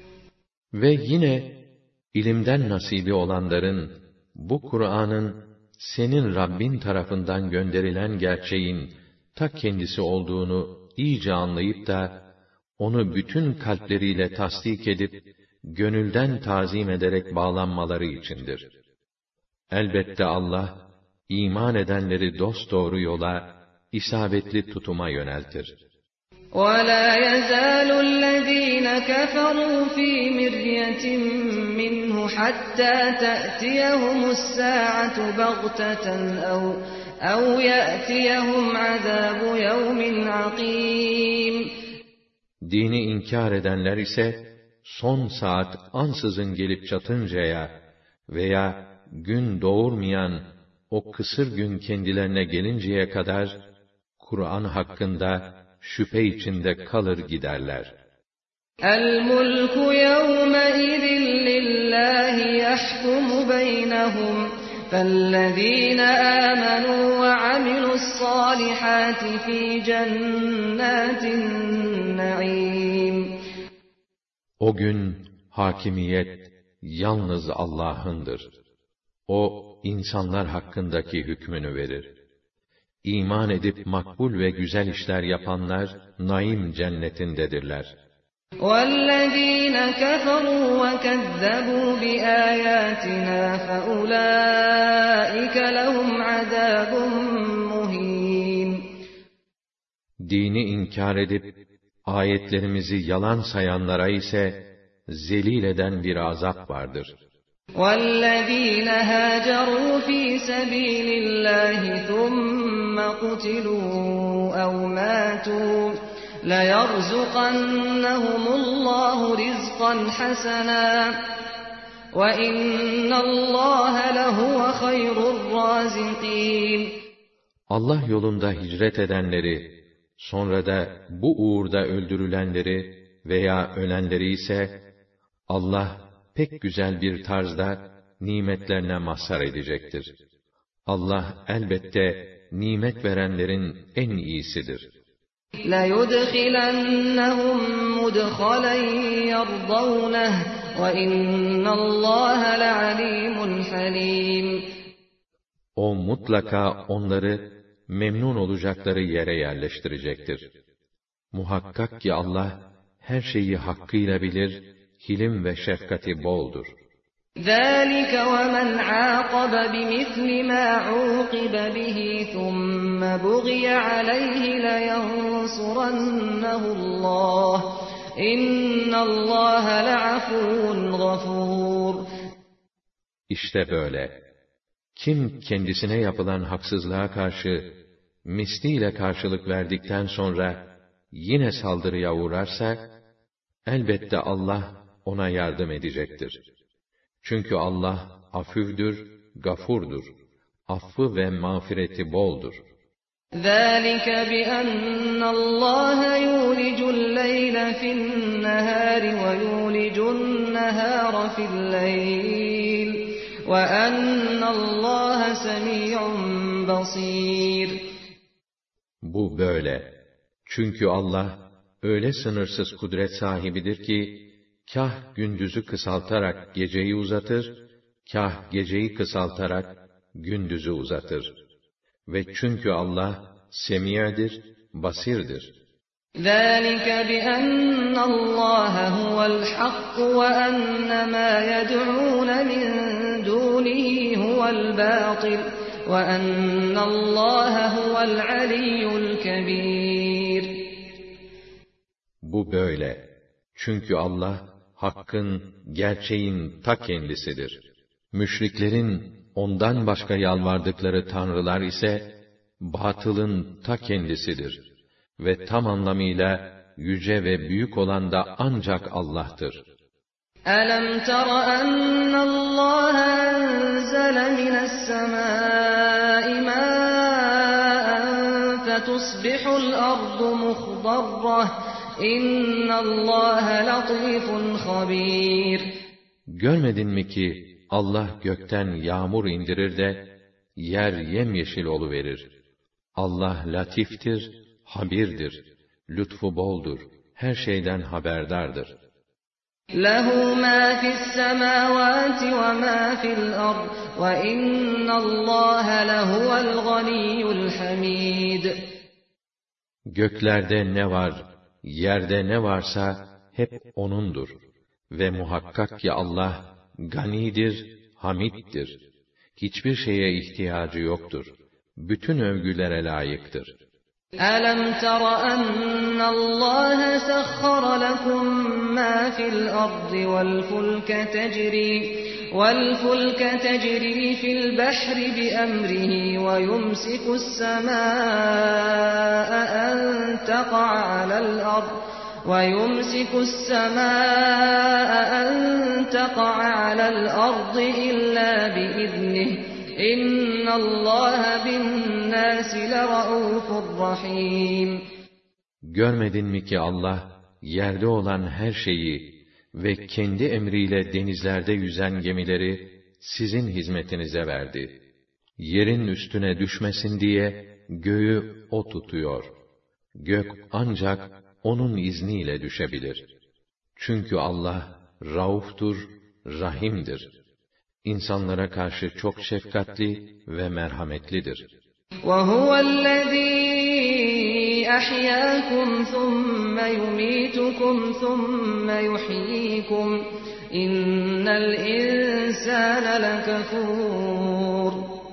Ve yine ilimden nasibi olanların bu Kur'an'ın senin Rabbin tarafından gönderilen gerçeğin ta kendisi olduğunu iyice anlayıp da onu bütün kalpleriyle tasdik edip gönülden tazim ederek bağlanmaları içindir. Elbette Allah iman edenleri dosdoğru yola, isabetli tutuma yöneltir. وَلَا يَزَالُ الَّذ۪ينَ كَفَرُوا ف۪ي مِرْيَةٍ مِّنْهُ حَتَّى تَأْتِيَهُمُ السَّاعَةُ بَغْتَةً اَوْ يَأْتِيَهُمْ عَذَابُ يَوْمٍ عَقِيمٍ. Dini inkar edenler ise, son saat ansızın gelip çatıncaya veya gün doğurmayan o kısır gün kendilerine gelinceye kadar, Kur'an hakkında şüphe içinde kalır giderler. الْمُلْكُ يَوْمَئِذٍ لِلَّهِ يَحْكُمُ بَيْنَهُمْ فَالَّذ۪ينَ آمَنُوا وَعَمِلُوا الصَّالِحَاتِ ف۪ي جَنَّاتِ النَّعِيمِ. O gün hakimiyet yalnız Allah'ındır. O insanlar hakkındaki hükmünü verir. İman edip makbul ve güzel işler yapanlar naim cennetindedirler. وَالَّذ۪ينَ كَفَرُوا وَكَذَّبُوا بِآيَاتِنَا فَأُولَٰئِكَ لَهُمْ عَذَابٌ مُّهِينٌ. Dini inkar edip ayetlerimizi yalan sayanlara ise zelil eden bir azap vardır. وَالَّذ۪ينَ هَاجَرُوا ف۪ي سَب۪يلِ اللّٰهِ ثُمَّ قُتِلُوا اَوْ مَاتُوا لَيَرْزُقَنَّهُمُ اللّٰهُ رِزْقًا حَسَنًا وَاِنَّ اللّٰهَ لَهُوَ خَيْرُ الرَّازِقِينَ. Allah yolunda hicret edenleri, sonra da bu uğurda öldürülenleri veya ölenleri ise, Allah pek güzel bir tarzda nimetlerine mazhar edecektir. Allah elbette nimet verenlerin en iyisidir. لَيُدْخِلَنَّهُمْ مُدْخَلًا يَرْضَوْنَهُ وَاِنَّ اللّٰهَ لَعَلِيمٌ حَلِيمٌ. O mutlaka onları memnun olacakları yere yerleştirecektir. Muhakkak ki Allah her şeyi hakkıyla bilir, hilim ve şefkati boldur. ذَٰلِكَ وَمَنْ عَاقَبَ بِمِثْلِ مَا عُوقِبَ بِهِ ثُمَّ بُغِيَ عَلَيْهِ لَيَنصُرَنَّهُ اللّٰهُ اِنَّ اللّٰهَ لَعَفُوٌّ غَفُورٌ. İşte böyle. Kim kendisine yapılan haksızlığa karşı misliyle karşılık verdikten sonra yine saldırıya uğrarsa, elbette Allah ona yardım edecektir. Çünkü Allah afüvdür, gafurdur. Affı ve mağfireti boldur. ذَٰلِكَ بِأَنَّ اللّٰهَ يُولِجُ اللَّيْلَ فِي النَّهَارِ وَيُولِجُ النَّهَارَ فِي اللَّيْلِ وَأَنَّ اللّٰهَ سَمِيعٌ بَصِيرٌ. Bu böyle. Çünkü Allah öyle sınırsız kudret sahibidir ki, kâh gündüzü kısaltarak geceyi uzatır, kâh geceyi kısaltarak gündüzü uzatır. Ve çünkü Allah semi'dir, basirdir. ذَٰلِكَ بِأَنَّ اللّٰهَ هُوَ الْحَقُّ وَأَنَّ مَا يَدْعُونَ مِن دُونِهِ هُوَ الْبَاطِلُ وَأَنَّ اللّٰهَ هُوَ الْعَلِيُّ الْكَبِيرُ. Bu böyle. Çünkü Allah, hakkın, gerçeğin ta kendisidir. Müşriklerin ondan başka yalvardıkları tanrılar ise, batılın ta kendisidir. Ve tam anlamıyla yüce ve büyük olan da ancak Allah'tır. أَلَمْ تَرَ أَنَّ اللّٰهَ أَنزَلَ مِنَ السَّمَاءِ مَاءً فَتُصْبِحُ الْأَرْضُ مُخْضَرَّةً إِنَّ اللّٰهَ لَطِيفٌ خَبِيرٌ. Görmedin mi ki Allah gökten yağmur indirir de yer yemyeşil oluverir. Allah latiftir, habirdir, lütfu boldur, her şeyden haberdardır. لَهُ مَا فِي السَّمَاوَاتِ وَمَا فِي الْأَرْضِ وَإِنَّ اللّٰهَ لَهُوَ الْغَنِيُّ الْحَمِيدُ. Göklerde ne var, yerde ne varsa hep O'nundur. Ve muhakkak ki Allah, ganidir, hamiddir. Hiçbir şeye ihtiyacı yoktur. Bütün övgülere layıktır. أَلَمْ تَرَ أَنَّ اللّٰهَ سَخَّرَ لَكُم مَّا فِي الْأَرْضِ وَالْفُلْكَ تَجْرِي فِي الْبَحْرِ بِأَمْرِهِ وَيُمْسِكُ السَّمَاءَ أَن تَقَعَ عَلَى الْأَرْضِ إِلَّا بِإِذْنِهِ إِنَّ اللّٰهَ بِالنَّاسِ لَرَءُوفٌ رَحِيمٌ. Görmedin mi ki Allah, yerde olan her şeyi ve kendi emriyle denizlerde yüzen gemileri sizin hizmetinize verdi. Yerin üstüne düşmesin diye göğü O tutuyor. Gök ancak O'nun izniyle düşebilir. Çünkü Allah, Rauftur, Rahim'dir. İnsanlara karşı çok şefkatli ve merhametlidir. وَهُوَ الَّذ۪ي أَحْيَاكُمْ ثُمَّ يُمِيتُكُمْ ثُمَّ يُحْيِيكُمْ اِنَّ الْاِنْسَانَ لَكَفُورٌ.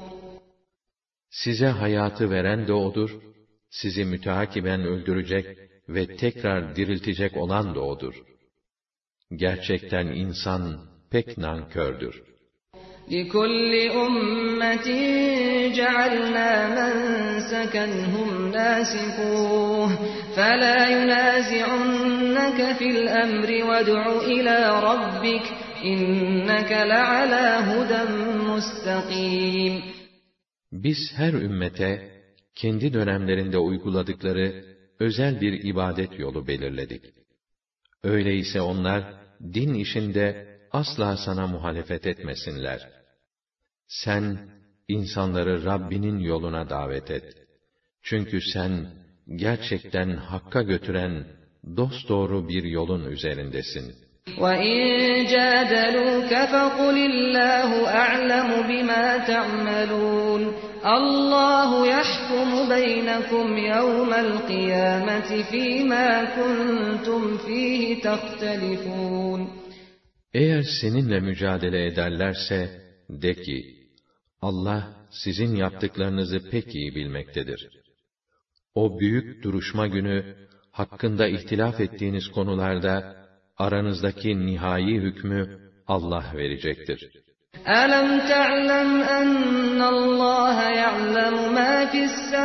Size hayatı veren de O'dur, sizi müteakiben öldürecek ve tekrar diriltecek olan da O'dur. Gerçekten insan pek nankördür. لِكُلِّ أُمَّةٍ جَعَلْنَا مَنْسَكًا هُمْ نَاسِكُوهُ فَلَا يُنَازِعُنَّكَ فِي الْأَمْرِ وَادْعُ إِلَى رَبِّكَ إِنَّكَ لَعَلَى هُدًى مُسْتَقِيمٍ. Biz her ümmete kendi dönemlerinde uyguladıkları özel bir ibadet yolu belirledik. Öyleyse onlar din işinde asla sana muhalefet etmesinler. Sen insanları Rabbinin yoluna davet et. Çünkü sen gerçekten hakka götüren dosdoğru bir yolun üzerindesin. وَاِنْ جَادَلُوكَ فَقُلِ اللّٰهُ أَعْلَمُ بِمَا تَعْمَلُونَ اللّٰهُ يَحْكُمُ بَيْنَكُمْ يَوْمَ الْقِيَامَةِ فِيمَا كُنْتُمْ فِيهِ تَخْتَلِفُونَ. Eğer seninle mücadele ederlerse, de ki, Allah sizin yaptıklarınızı pek iyi bilmektedir. O büyük duruşma günü, hakkında ihtilaf ettiğiniz konularda, aranızdaki nihai hükmü Allah verecektir. أَلَمْ تَعْلَمْ أَنَّ اللّٰهَ يَعْلَمُ مَا فِي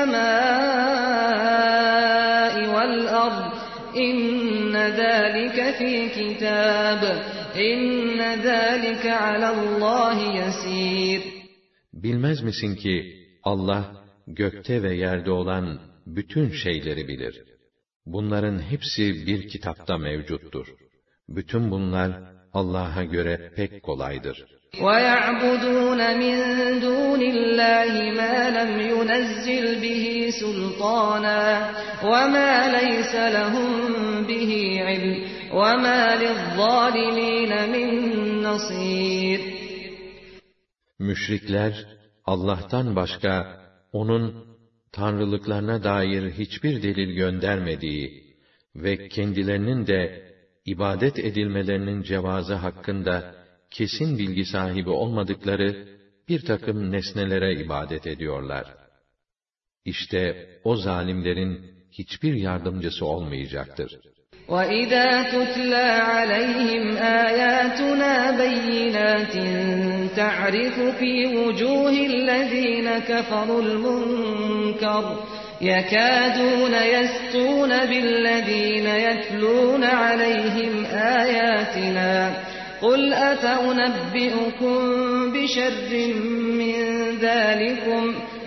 السَّمَاءِ وَالْأَرْضِ إِنَّ ذَٰلِكَ فِي كِتَابٍ إِنَّ ذَٰلِكَ عَلَى اللّٰهِ يَسِيرٌ. Bilmez misin ki Allah gökte ve yerde olan bütün şeyleri bilir. Bunların hepsi bir kitapta mevcuttur. Bütün bunlar Allah'a göre pek kolaydır. وَيَعْبُدُونَ مِنْ دُونِ اللّٰهِ مَا لَمْ يُنَزِّلْ بِهِ سُلْطَانًا وَمَا لَيْسَ لَهُمْ بِهِ عِلْمٌ وَمَا لِلظَّالِمِينَ مِنْ نَصِيرٍ. Müşrikler, Allah'tan başka, O'nun tanrılıklarına dair hiçbir delil göndermediği ve kendilerinin de ibadet edilmelerinin cevazı hakkında kesin bilgi sahibi olmadıkları bir takım nesnelere ibadet ediyorlar. İşte o zalimlerin hiçbir yardımcısı olmayacaktır. وَإِذَا تُتْلَى عَلَيْهِمْ آيَاتُنَا بَيِّنَاتٍ تَعْرِفُ فِي وُجُوهِ الَّذِينَ كَفَرُوا الْمُنكَرَ يَكَادُونَ يَسْطُونَ بِالَّذِينَ يَتْلُونَ عَلَيْهِمْ آيَاتِنَا قُلْ أَفَأُنَبِّئُكُم بِشَرٍّ مِّن ذَٰلِكُمْ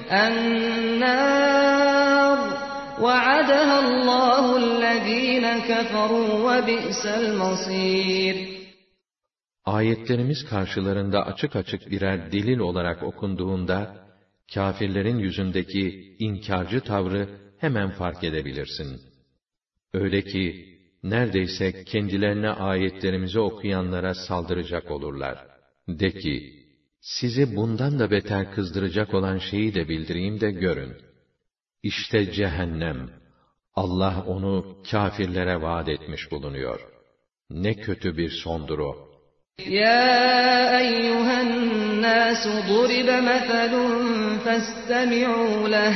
النَّارُ وَعَدَهَا اللّٰهُ الَّذ۪ينَ كَفَرُوا وَبِئْسَ الْمَصِيرُ. Ayetlerimiz karşılarında açık açık birer delil olarak okunduğunda, kâfirlerin yüzündeki inkarcı tavrı hemen fark edebilirsin. Öyle ki, neredeyse kendilerine ayetlerimizi okuyanlara saldıracak olurlar. De ki, sizi bundan da beter kızdıracak olan şeyi de bildireyim de görün. İşte cehennem, Allah onu kâfirlere vaat etmiş bulunuyor. Ne kötü bir sondur o. Ya eyyühen nâsu duribe mefelun festemi'û leh.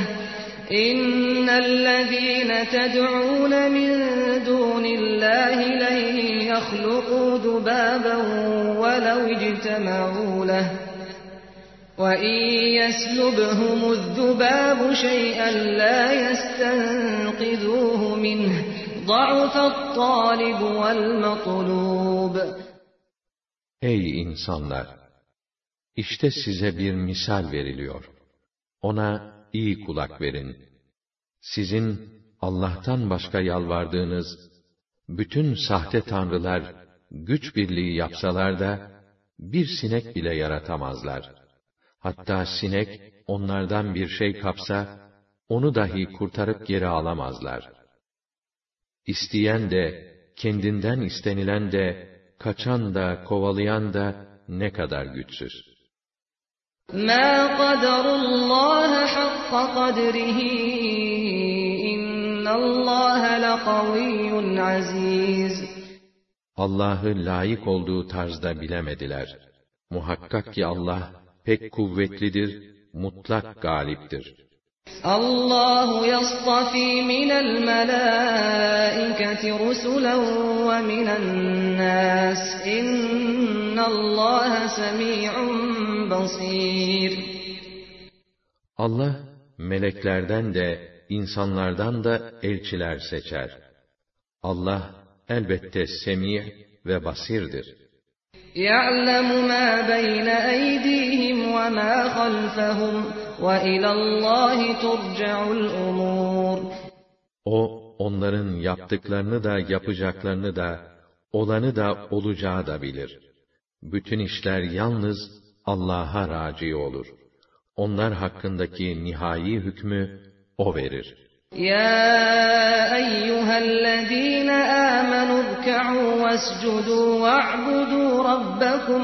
İnnellezîne ted'ûne min dûnillâhi len yahluqû zubâben velev ictema'û leh. وَإِنْ يَسْلُبْهُمُ الذُّبَابُ شَيْئًا لَا يَسْتَنْقِذُوهُ مِنْهُ ضَعُفَ الطَّالِبُ وَالْمَطْلُوبُ. Ey insanlar! İşte size bir misal veriliyor. Ona iyi kulak verin. Sizin Allah'tan başka yalvardığınız bütün sahte tanrılar güç birliği yapsalar da bir sinek bile yaratamazlar. Hatta sinek onlardan bir şey kapsa, onu dahi kurtarıp geri alamazlar. İsteyen de, kendinden istenilen de, kaçan da, kovalayan da ne kadar güçsüz. مَا قَدَرُ اللّٰهَ حَقَّ قَدْرِهِ اِنَّ اللّٰهَ لَقَوِيٌّ عَز۪يزٌ. Allah'ı layık olduğu tarzda bilemediler. Muhakkak ki Allah, pek kuvvetlidir, mutlak galiptir. Allahu yastafi minel melâiketi rusulen ve minen nâs. İnnallâhe semî'un basîr. Allah, meleklerden de, insanlardan da elçiler seçer. Allah, elbette semî' ve basirdir. يَعْلَمُ مَا بَيْنَ أَيْدِيهِمْ وَمَا خَلْفَهُمْ وَإِلَى اللّٰهِ تُرْجَعُ الْأُمُورُ. O, onların yaptıklarını da, yapacaklarını da, olanı da, olacağı da bilir. Bütün işler yalnız Allah'a raci olur. Onlar hakkındaki nihai hükmü O verir. يَا أَيُّهَا الَّذ۪ينَ آمَنُوا ارْكَعُوا وَاسْجُدُوا وَاعْبُدُوا رَبَّكُمْ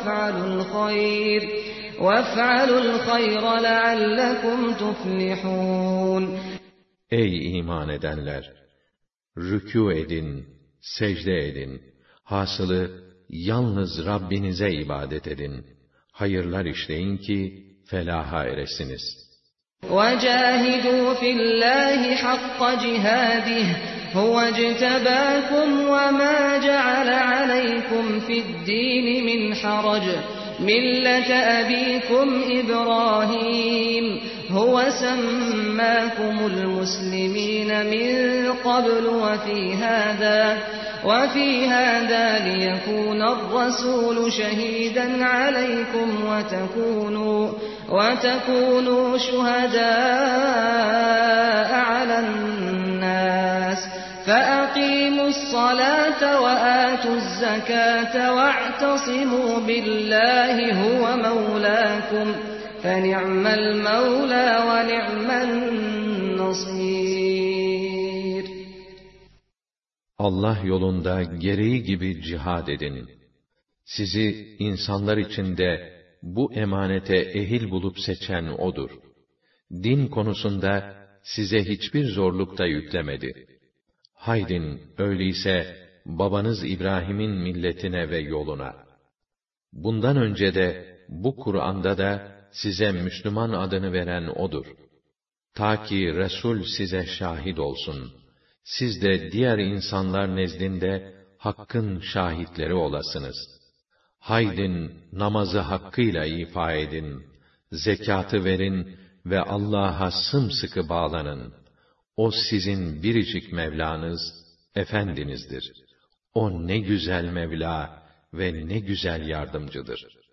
وَافْعَلُوا الْخَيْرَ لَعَلَّكُمْ تُفْلِحُونَ. Ey iman edenler! Rükû edin, secde edin. Hasılı, yalnız Rabbinize ibadet edin. Hayırlar işleyin ki, felaha eresiniz. وَجَاهِدُوا فِي اللّٰهِ حَقَّ جِهَادِهِ هُوَ اجْتَبَاكُمْ وَمَا جَعَلَ عَلَيْكُمْ فِي الدِّينِ مِنْ حَرَجٍ مِلَّةَ أَبِيكُمْ إِبْرَاهِيمَ هُوَ سَمَّاكُمُ الْمُسْلِمِينَ مِنْ قَبْلُ وَفِي هَذَا لِيَكُونَ الرَّسُولُ شَهِيدًا عَلَيْكُمْ وَتَكُونُوا شُهَدَاءَ عَلَى النَّاسِ فَأَقِيمُوا الصَّلَاةَ وَآتُوا الزَّكَاةَ وَاعْتَصِمُوا بِاللَّهِ هُوَ مَوْلَاكُمْ فَنِعْمَ الْمَوْلَى وَنِعْمَ النَّصِيرُ. Allah yolunda gereği gibi cihad edin. Sizi insanlar içinde bu emanete ehil bulup seçen O'dur. Din konusunda size hiçbir zorluk da yüklemedi. Haydin, öyleyse babanız İbrahim'in milletine ve yoluna. Bundan önce de bu Kur'an'da da size Müslüman adını veren O'dur. Ta ki Resul size şahit olsun. Siz de diğer insanlar nezdinde Hakk'ın şahitleri olasınız. Haydin, namazı hakkıyla ifa edin, zekatı verin ve Allah'a sımsıkı bağlanın. O sizin biricik Mevlanız, Efendinizdir. O ne güzel Mevla ve ne güzel yardımcıdır.